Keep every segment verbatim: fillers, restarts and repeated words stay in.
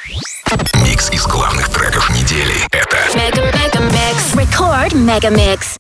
Микс из главных треков недели. Это Mega Mega Mix. Record Mega Mix.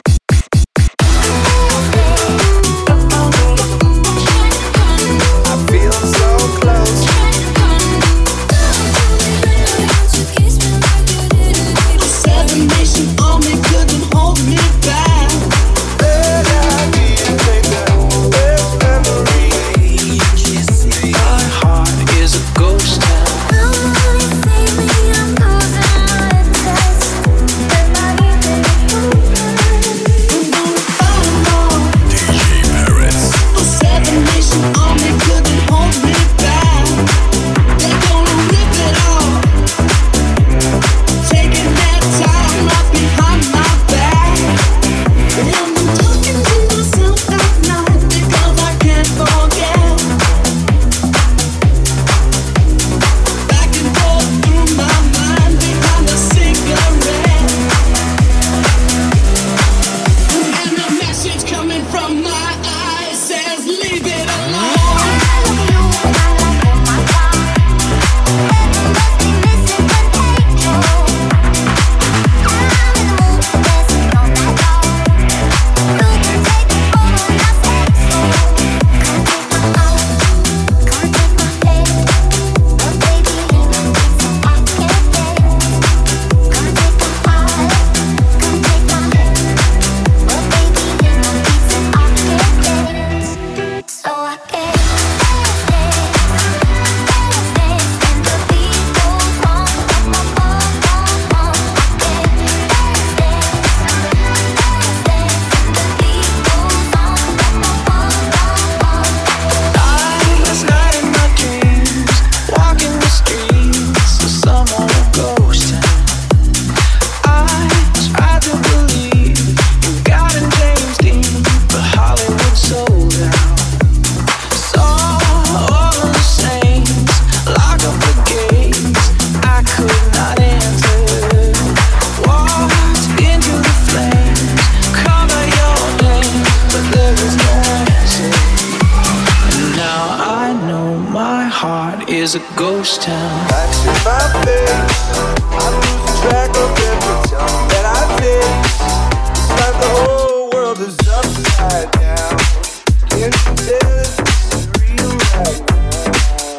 is a ghost town. Lights in my face, I'm losing track of every time that I taste. It's like the whole world is upside down. Can't you tell it's real right now?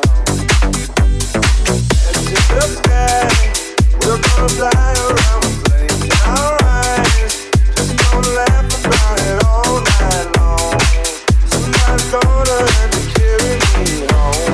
Let's hit the sky, we're gonna fly around with flames in our eyes. Just gonna laugh about it all night long. Somebody's gonna have to carry me home.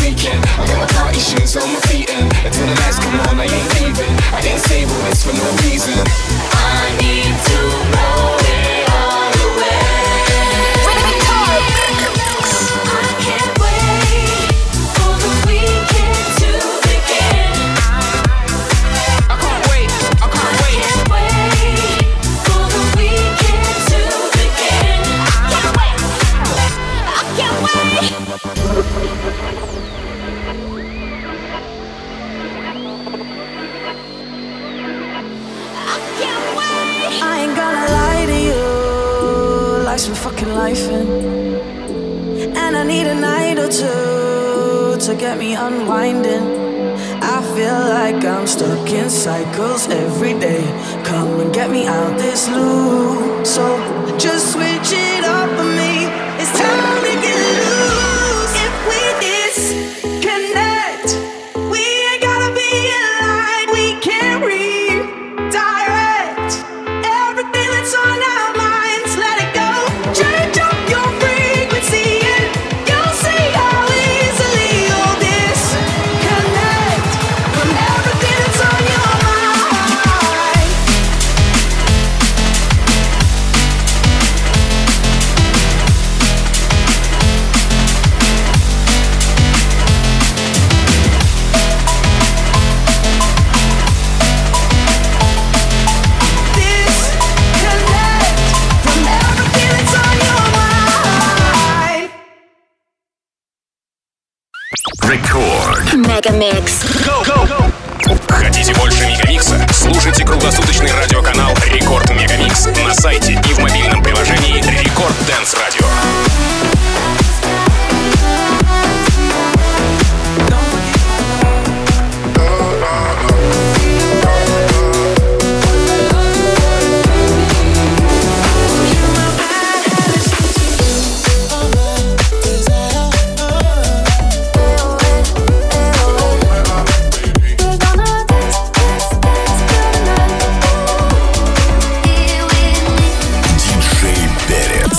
weekend. I got my party shoes on my feet and until the lights come on I ain't leaving. I didn't say all this for no reason. I need to know it all away. I can't wait for the weekend to begin. I can't wait, I can't wait. I can't wait for the weekend to begin. I can't wait. I can't wait. I ain't gonna lie to you, life's been fucking lifing, and I need a night or two to get me unwinding. I feel like I'm stuck in cycles every day. Come and get me out this loop. So just switch it up for me. It's time to get loose. If we disconnect, we ain't gotta be in line. We can redirect everything that's on our minds. Let it go. Change up your frequency and you'll see how easily you'll disconnect from everything that's on your mind. Disconnect from everything that's on your mind. Рекорд. Мегамикс. Хотите больше Мегамикса? Слушайте круглосуточный радиоканал Рекорд Мегамикс на сайте и в мобильном приложении Рекорд Дэнс Радио. Диджей Перец.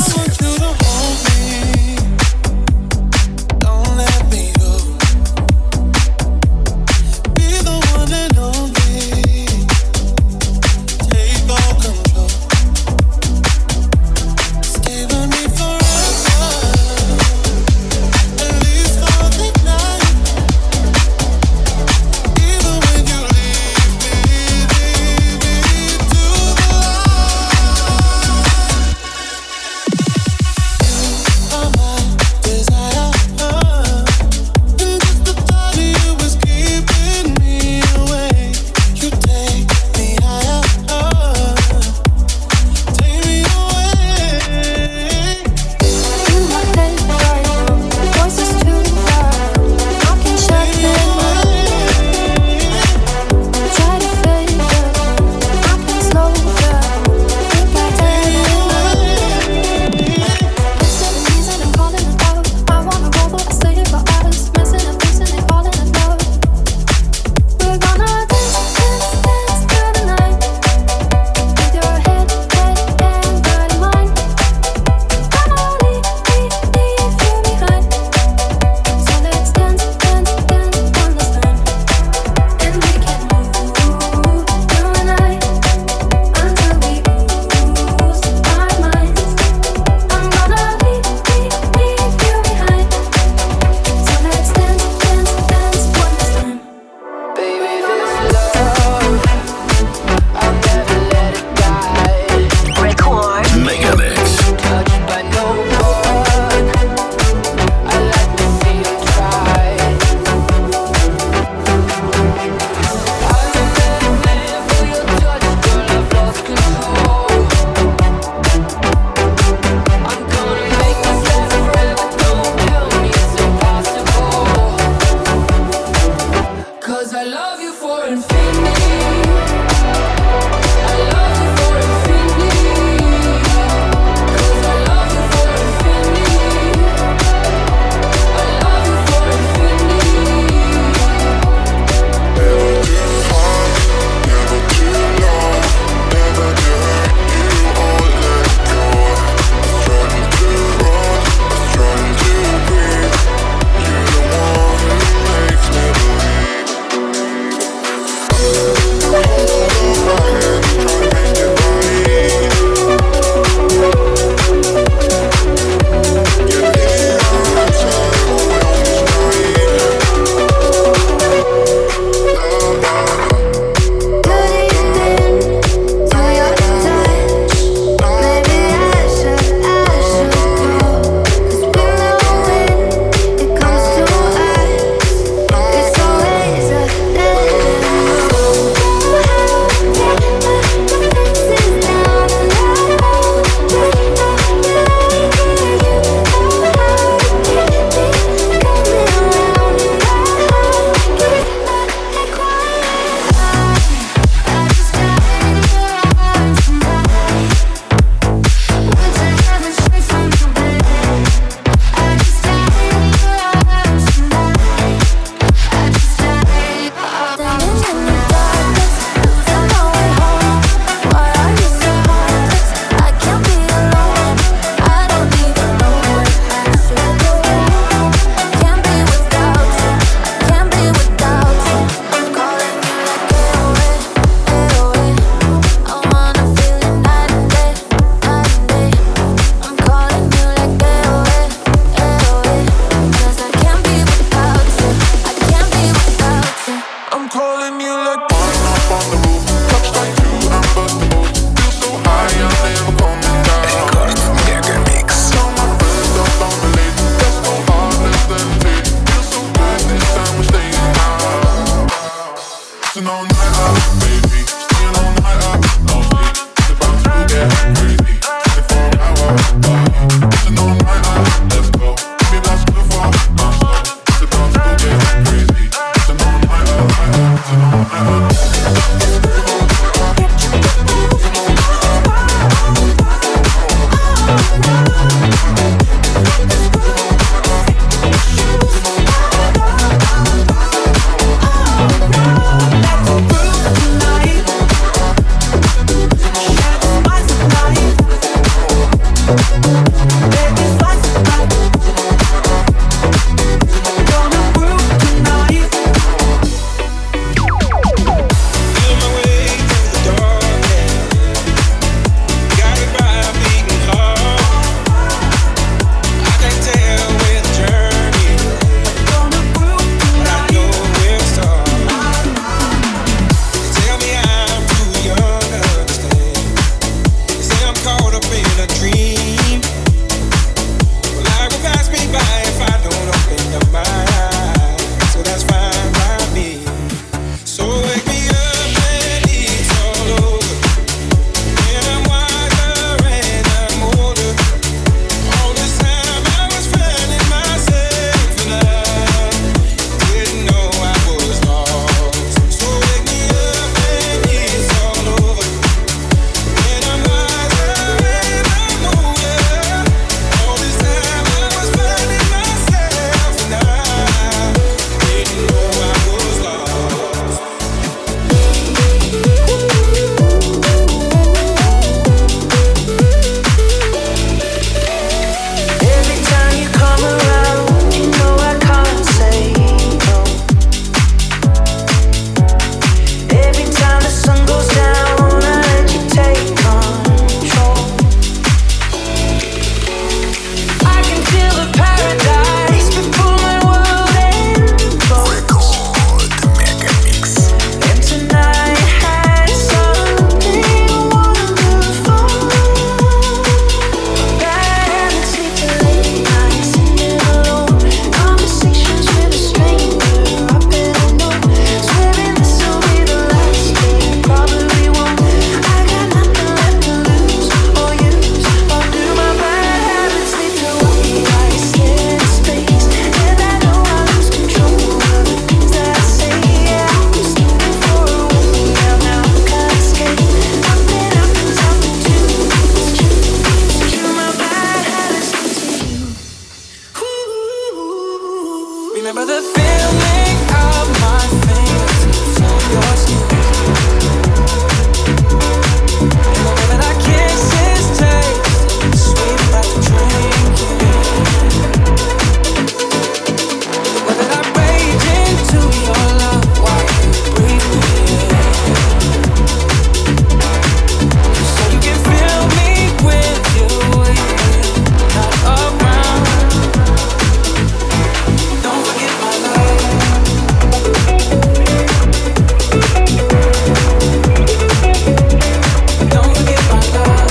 feeling of my fingertips on your skin. And the way that our kisses taste sweet after drinking. The way that I rage into your love while you breathe me in. So you can fill me with you when you're not around. Don't forget my love. Don't forget my love.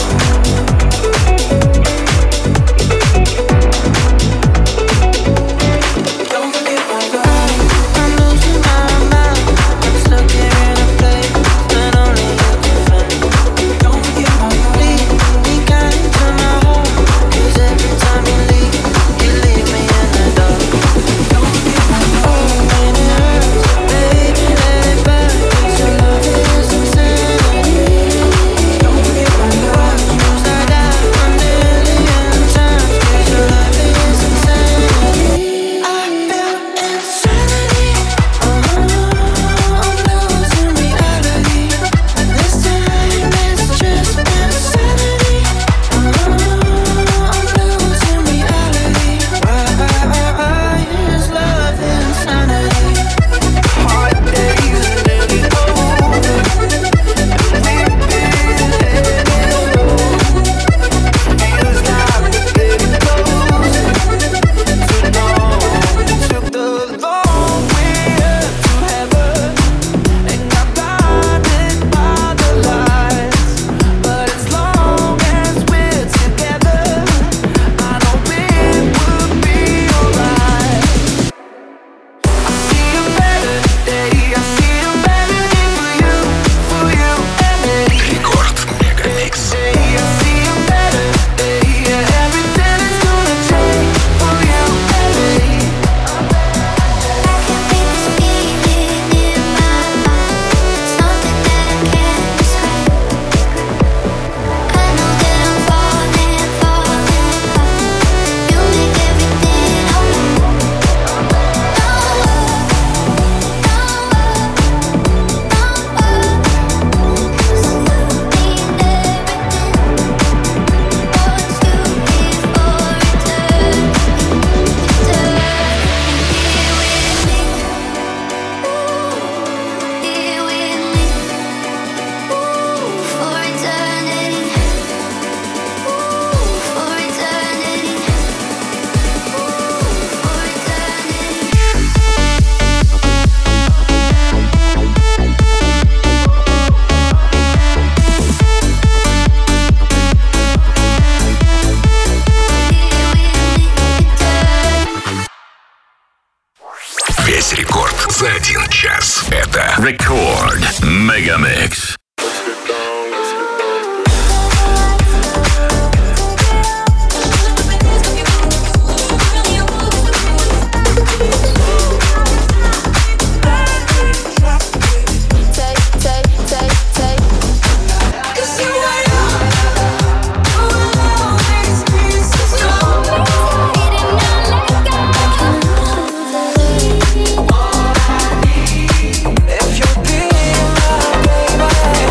Don't forget my love. I'm losing my mind. I'm stuck here in a place that only you can find. Don't forget my love. Leave me kind to my home, 'cause every time you leave, you leave me in the dark. Don't forget my love. Oh, when it hurts, baby, let it burn, 'cause your love is insanity. Don't forget my love. Used I die a million times, 'cause your love is insanity. I feel insanity. Oh, I'm losing reality. This time it's just insanity. Oh, I'm losing reality. Why is love insanity? Hard days are nearly over, and we've been heading low. Feels like we're getting closer to dawn. Took the long way up to heaven, and got blinded by the lights. But as long as we're together, I know it will be alright. I see a better day, I see a better day for you, for you and me. Рекорд Мегамикс. Day, I see a better day, yeah, everything is gonna change for you and me. I can feel this feeling in my heart, something that I can't describe. I know that I'm falling, falling apart. You make everything alright. No worries, for eternity, for eternity, for eternity. Весь рекорд за один час. Это Рекорд Мегамикс. Take, take, take, take. Cause you ain't alone, these pieces if you're being my baby.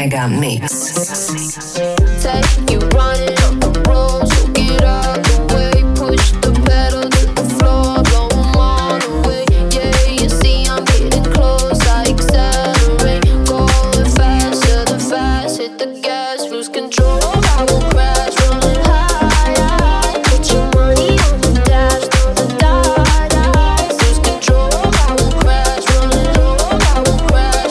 Mega Mix. Take you running on the road, so get out the way. Push the pedal to the floor, blow 'em all away. Yeah, you see I'm getting close, I accelerate. Going faster than fast, hit the gas, lose control. I won't crash, running high, high. Put your money on the dash, throw the die, die. Lose control, I won't crash, running low, I won't crash.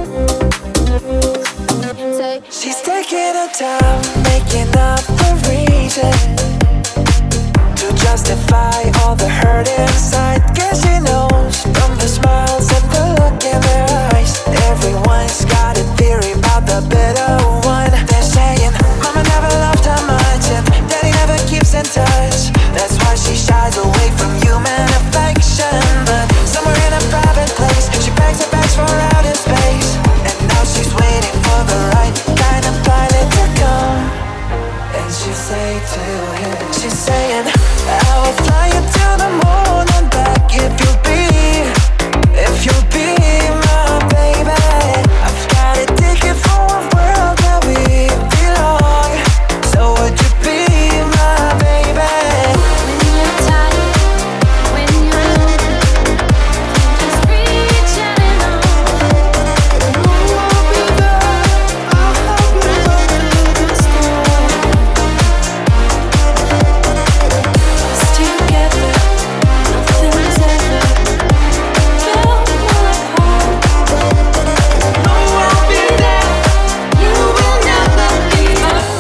Say, she's taking her time, making up the reason to justify all the hurt inside. Guess she knows from the smiles and the look in their eyes. Everyone's got a theory about the better one. They're saying, Mama never loved her much and Daddy never keeps in touch. That's why she shies away from human affection. But somewhere in a private place, she packs her bags for outer space. And now she's waiting for the right kind of pilot to come. And she say to him, she's saying, I will fly you to the moon and back if you'll be, if you'll be my baby. I've got a ticket for a world that we belong. So would you be my baby? When you're tired, when you're lonely, just reach out and on. I'll be there, I'll help you through the storm. Us together, nothing's ever felt like home. No, I'll be there, you will never be alone.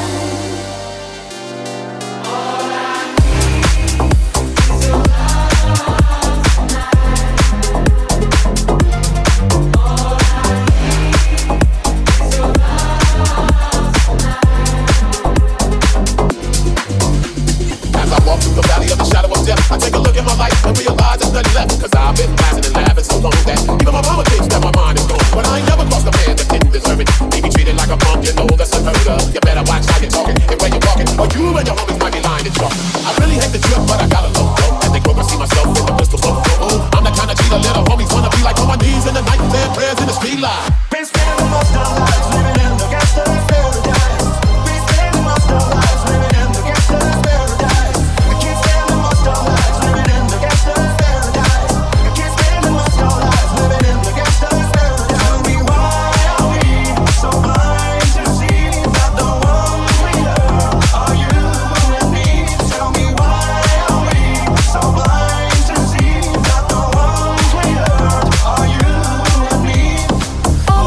As I walk through the valley of the shadow of death, I take a look at my life and realize there's nothing left. Cause I've been laughing and laughing so long that even my mama thinks that my mind is gone. But I ain't never crossed a man that didn't deserve it. He be treated like a punk, you know that's unheard of. You better watch how you're talking and where you're walking, or you and your homies might be lying to chalk. I really hate the trip, but I gotta low go. And they broke, I see myself with the pistol low. Oh, I'm the kind of cheater little homies wanna be like on my knees in the night, saying prayers in the street light. Been spending most of our lives living in the gangster's paradise. Been spending most of our lives living in the gangster's paradise. I keep spending most of our lives living in the gangster's paradise. I keep spending most of our lives living in the gangster's paradise. Tell me why are we so blind to see that the one we love are you and me? Tell me why are we so blind to see that the ones we love are you and me? Oh,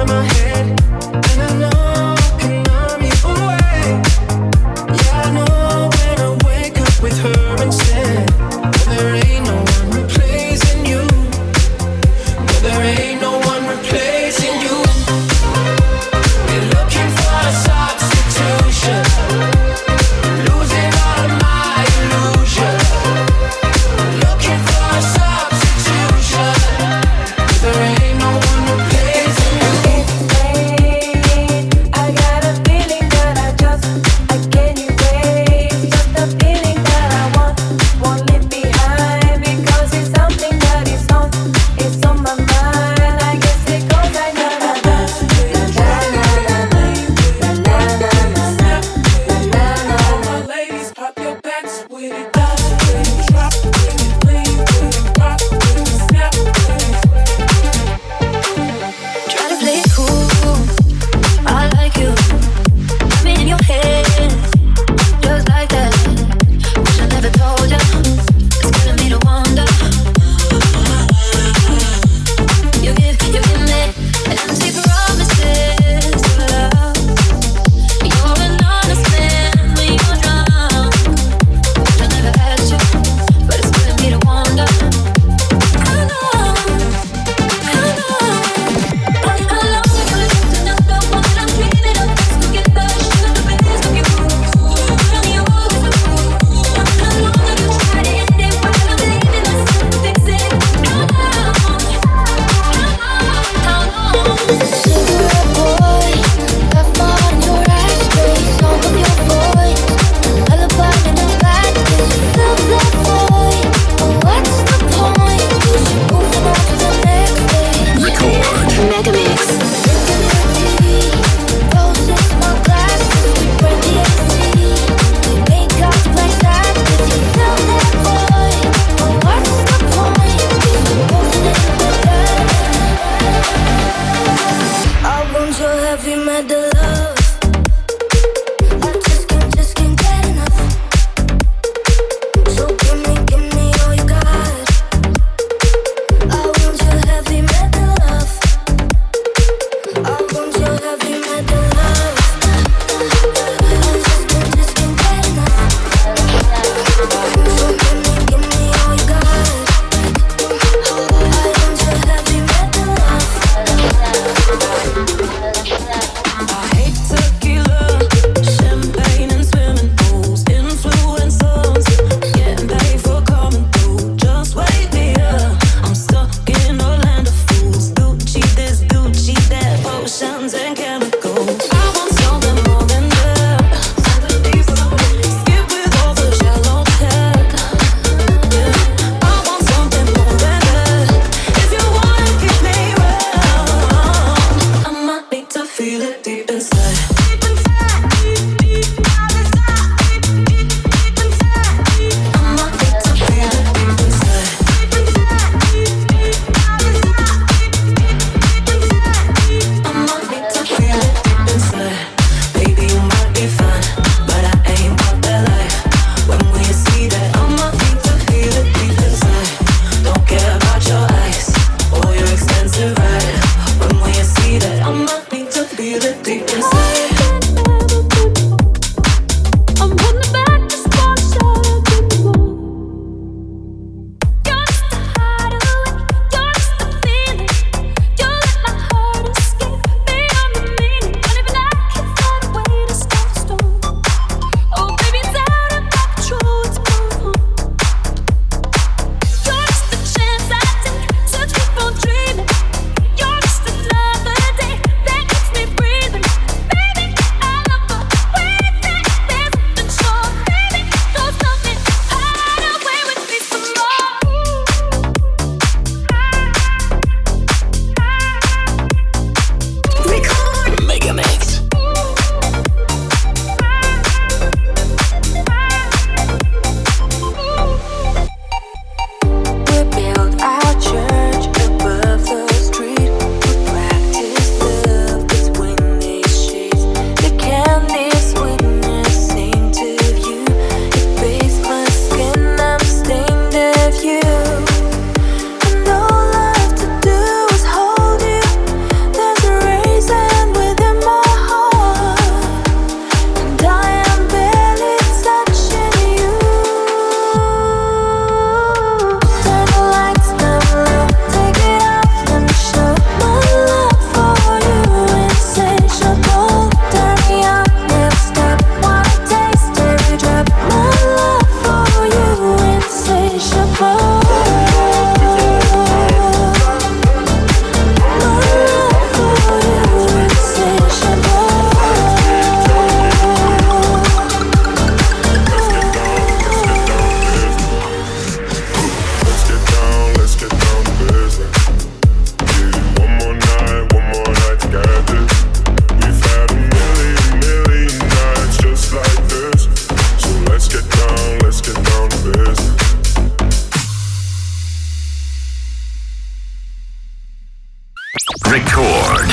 feel it deep inside.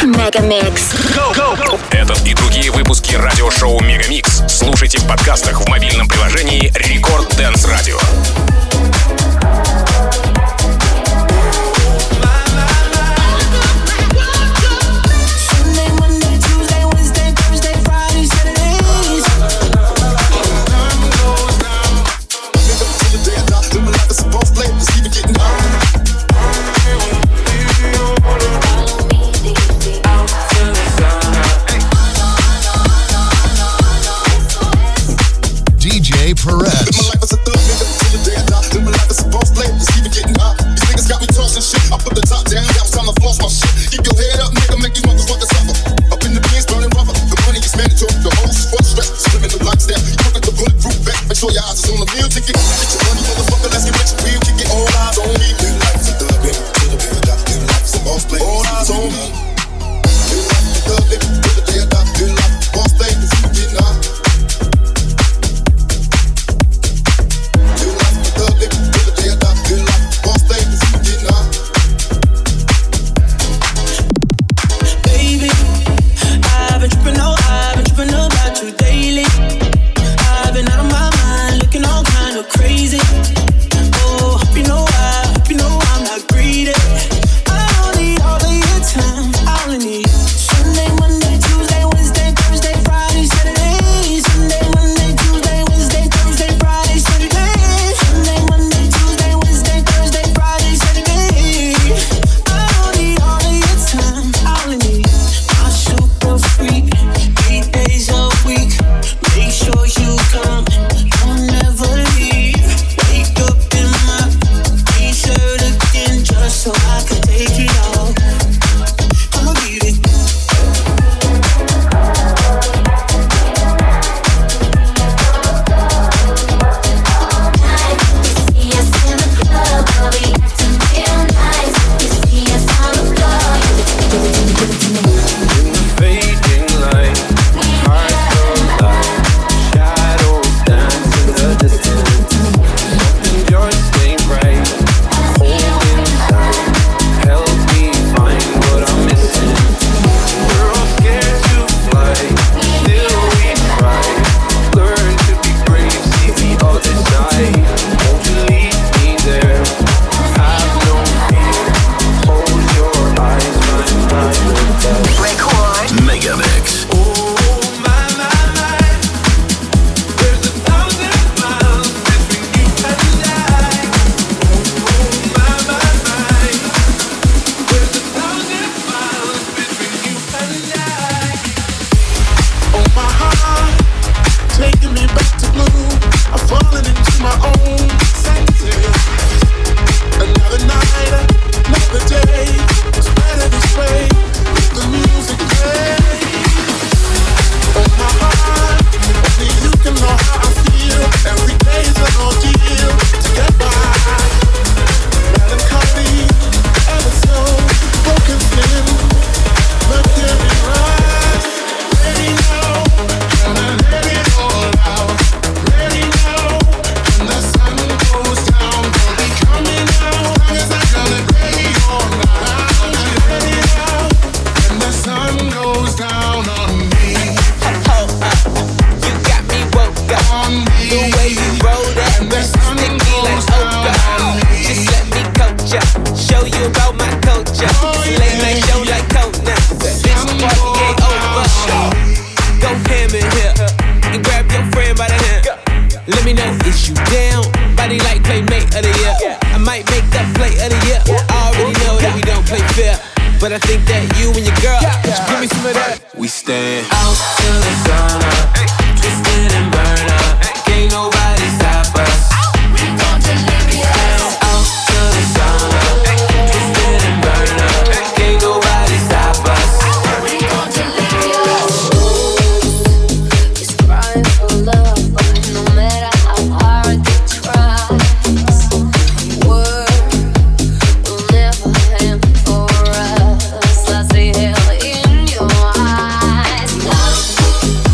Мегамикс. Этот и другие выпуски радиошоу Мегамикс слушайте в подкастах в мобильном приложении Рекорд Dance Radio. But I think that you and your girl should give me some of that. We stand out till the sun up, twisted and burn up. Can't nobody stop us. We gon' deliver ya. Out till the sun up, twisted and burn up. Can't nobody stop us. We gon' deliver ya. He's crying for love, but no matter how hard they try, word will never end for us. I see hell in your eyes. Love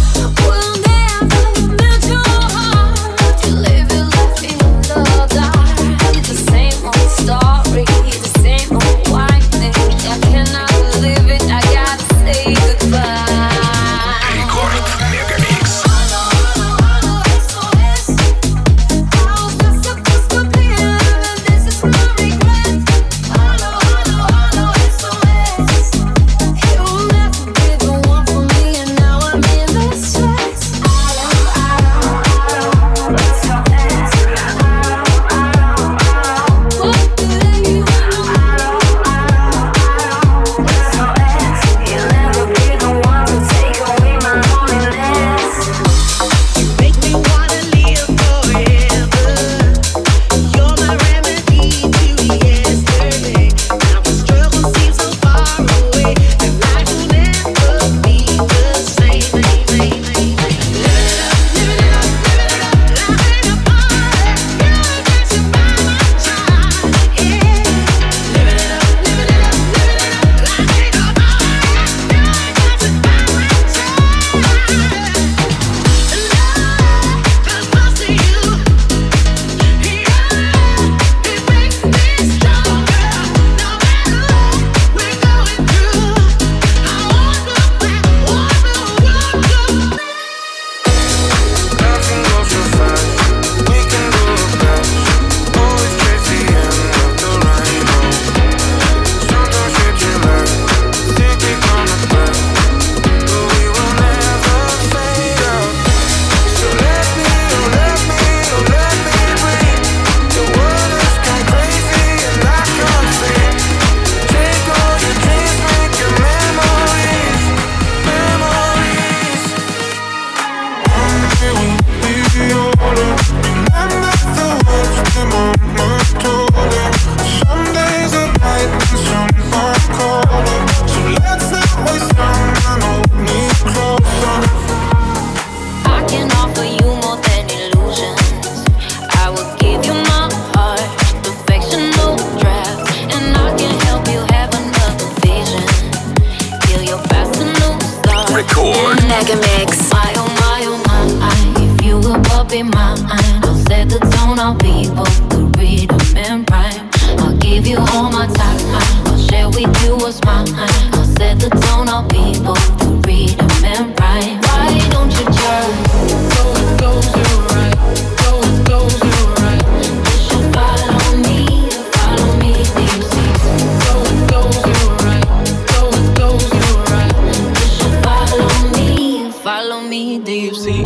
just a new start. Record. Mega Mix. My oh my oh my, if you will but be mine, I'll set the tone. I'll be both the rhythm and rhyme. I'll give you all my time. I'll share with you what's mine. I'll set the tone. I'll be both the rhythm and rhyme. Why don't you just go and close your eyes? Go and close your eyes. You should follow me, follow me, do you see? Go and close your eyes. Go and close your eyes. You should follow me, follow me, do you see?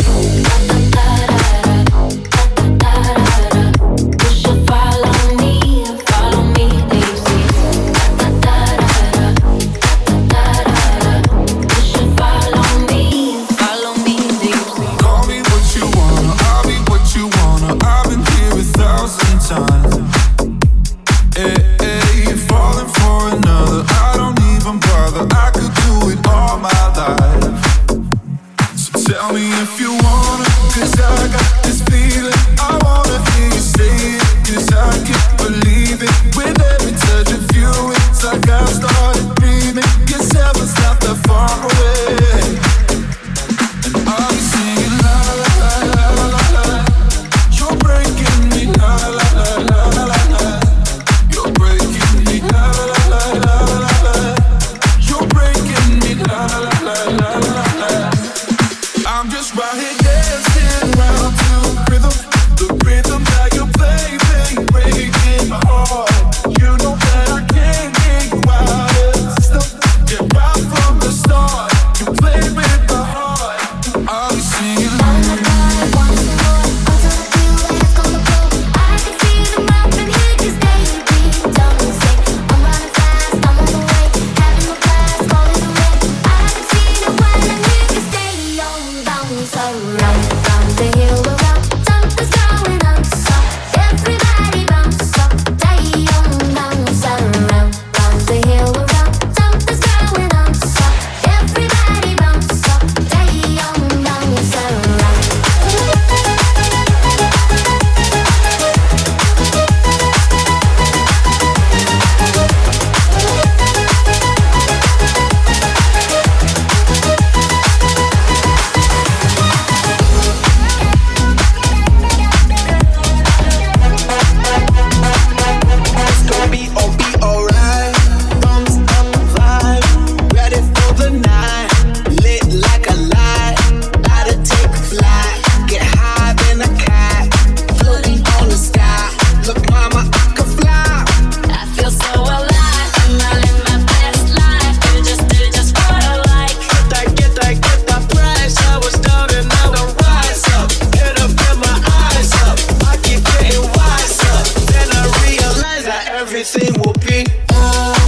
Everything will be alright.